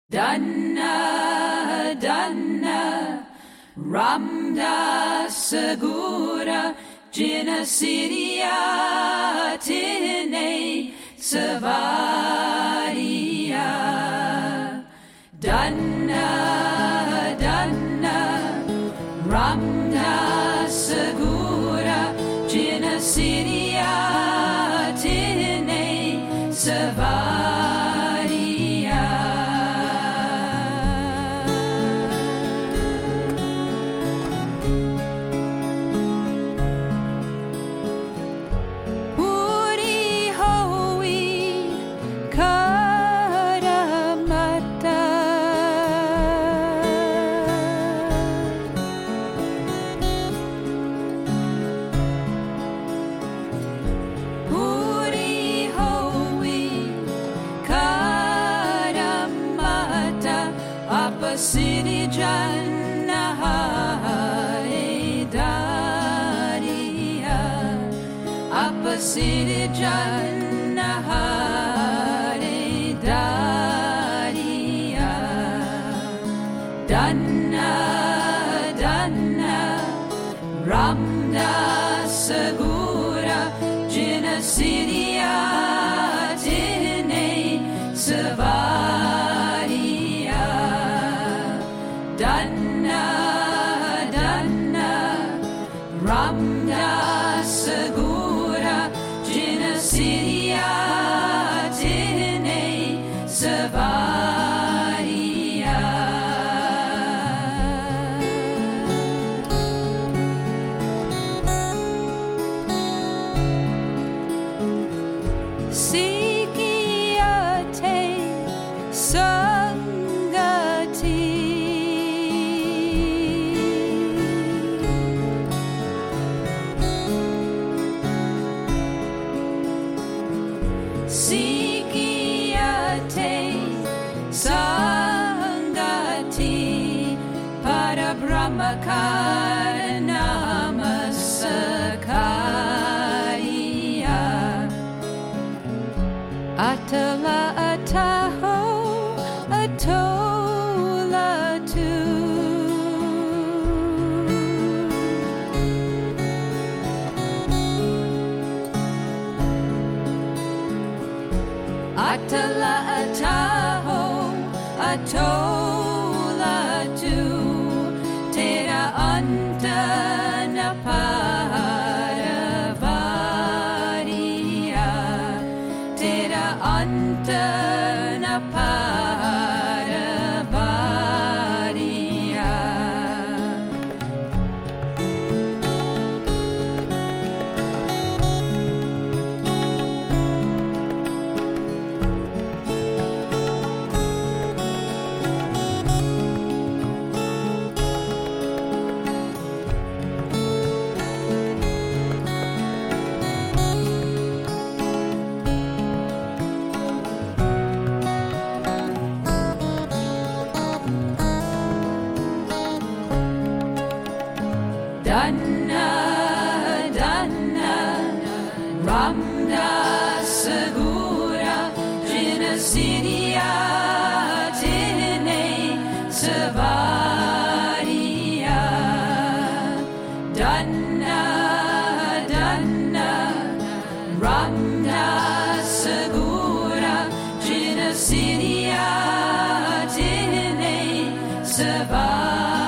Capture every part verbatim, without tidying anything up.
Dana, Dana, Ramda Segura, Jina Siria, Tine, Savaria. Dana, Dana, Ramda Segura, Jina Siria, Tine, Savaria. City Jannah Daria, Upper City Jannah Daria, Dana, Dana, Ramda Segura, Jina Siria, Tine, Savaria. Dana, Dana, Ramda Segura, Jina Siria, Tine, Savaria. Sikiate, Sangati. Sikiate Sangati Parabrahmakarna Masakaya Atala Ataho Atola Tu Atala Ataho Atola Tu Tera Anta Naparavaria Tera Anta Naparavaria. Dana, Dana, Ramda Segura, Jina Siria, Tine, Savaria. Dana, Dana, Ramda Segura, Jina Siria, Tine, Savaria.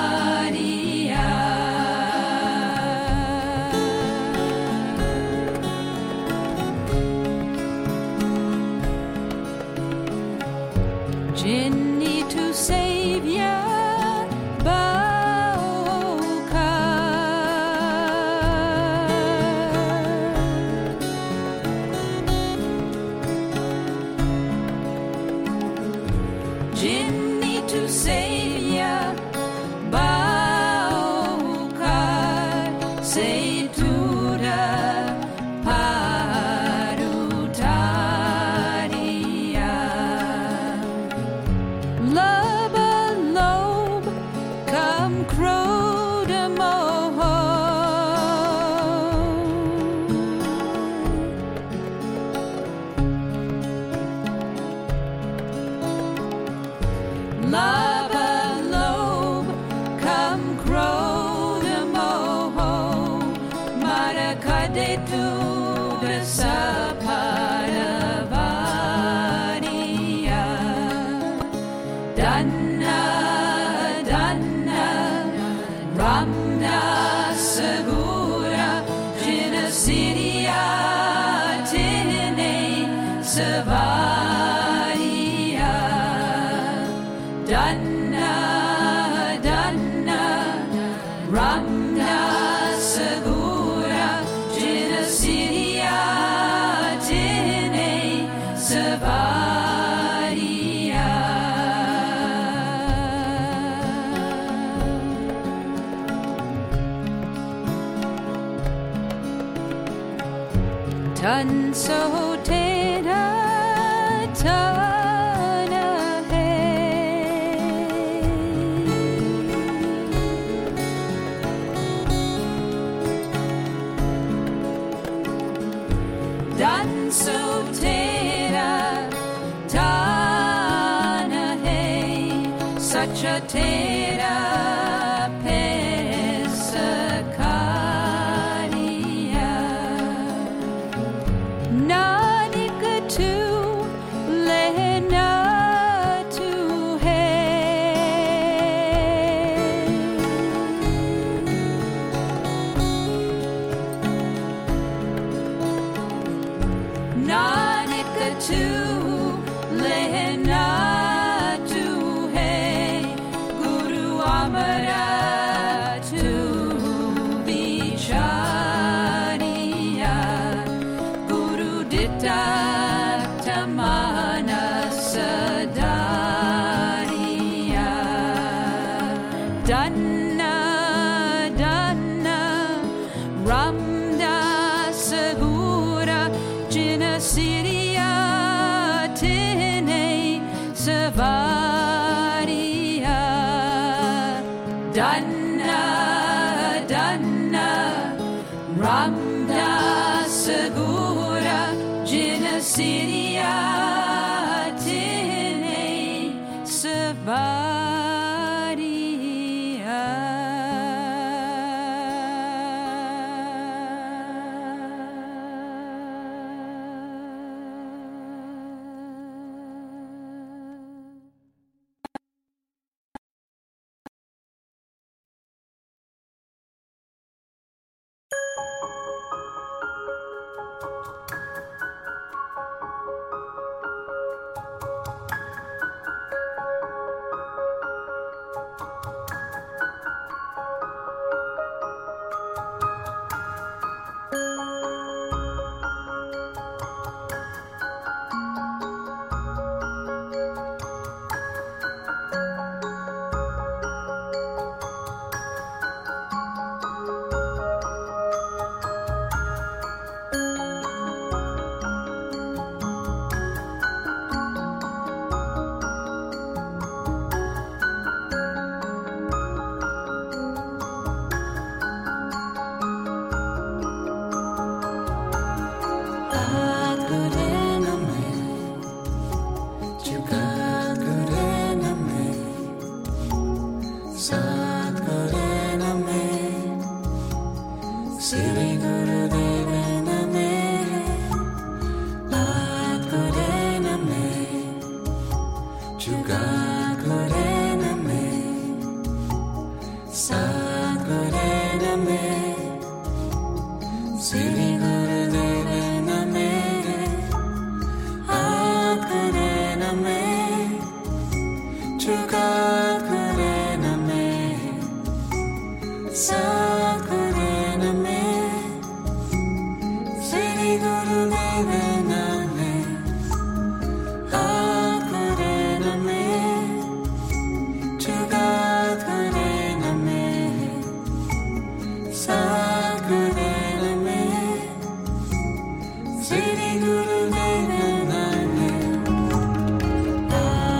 Jinni to Savior Bauka Jinni to Savior Bauka Say to the Labalob, come crow the moho, Marakadetu the Sapadavania. Danna, Danna, Ramna Sagura, Jinasidia, Tine, Savaria. Danna, Danna, Ramna Sagura, Jinasidia, Tine, Savaria. Tan so tena tana hey. Dan so tena tana hey. Such a tena pesakania. Nanika tu lehna tu hey. Nanika tu lehna tu hey. Guru Amara tu vichaniya. Guru Ditta Tamana Sadaniya. Danna, Danna, Ramda Sagura, Jinasidia, Tine, Savaria. Danna, Danna, Ramda Sagura, Jinasidia, Tine, Savaria.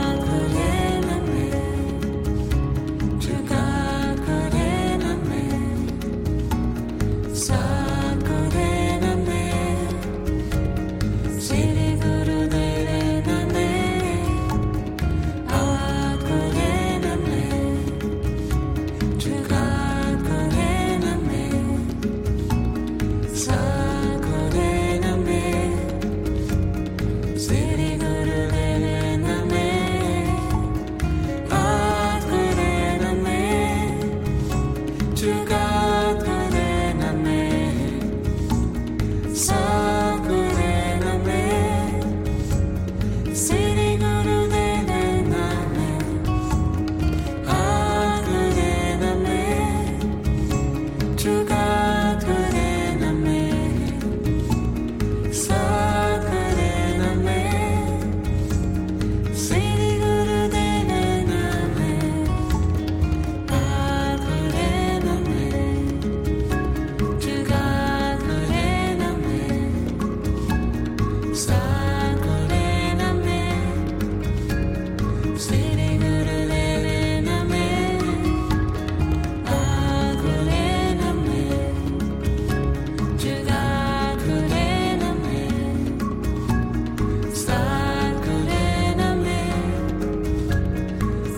Name.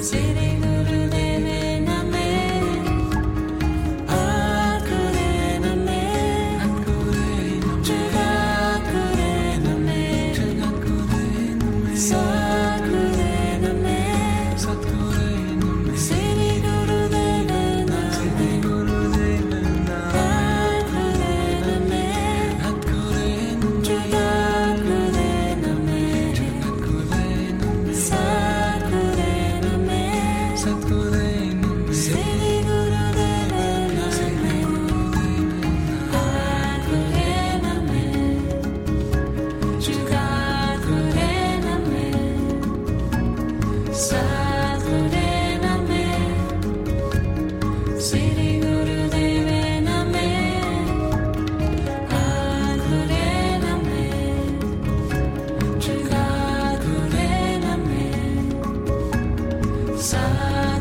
Sa